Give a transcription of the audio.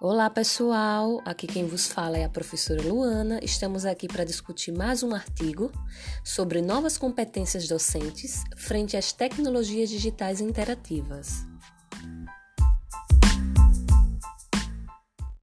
Olá pessoal, aqui quem vos fala é a professora Luana. Estamos aqui para discutir mais um artigo sobre novas competências docentes frente às tecnologias digitais interativas.